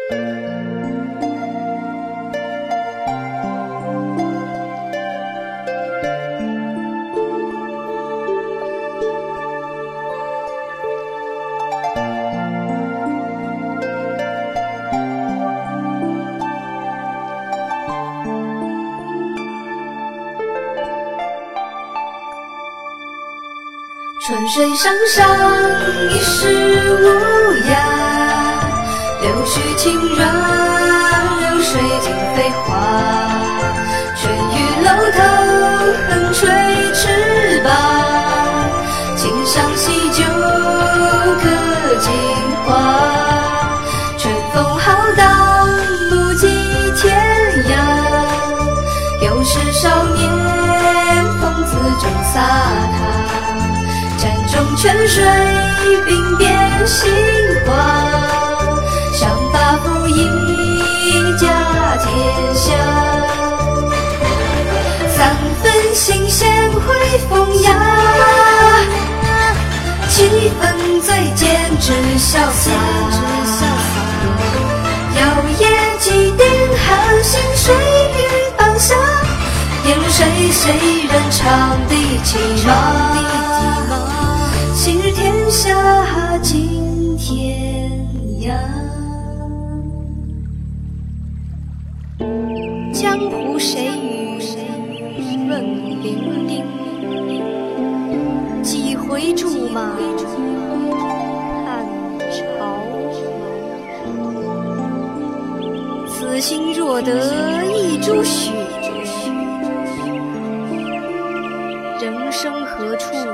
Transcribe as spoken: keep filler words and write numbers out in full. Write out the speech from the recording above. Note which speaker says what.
Speaker 1: 春水上上一时无涯，柳絮轻软，流水尽飞花。春雨楼头横吹翅膀，琴响喜酒歌尽欢。春风浩荡不及天涯，又是少年风姿正飒沓。山中泉水鬓边杏花，上发拂衣家天下。三分新鲜会风雅，七分醉剑之潇洒。摇曳几点寒星水雨放下，烟水谁人唱的凄忙？昔日天下尽天涯。江湖谁与问伶仃，几回驻马汉朝。此心若得一株雪，人生何处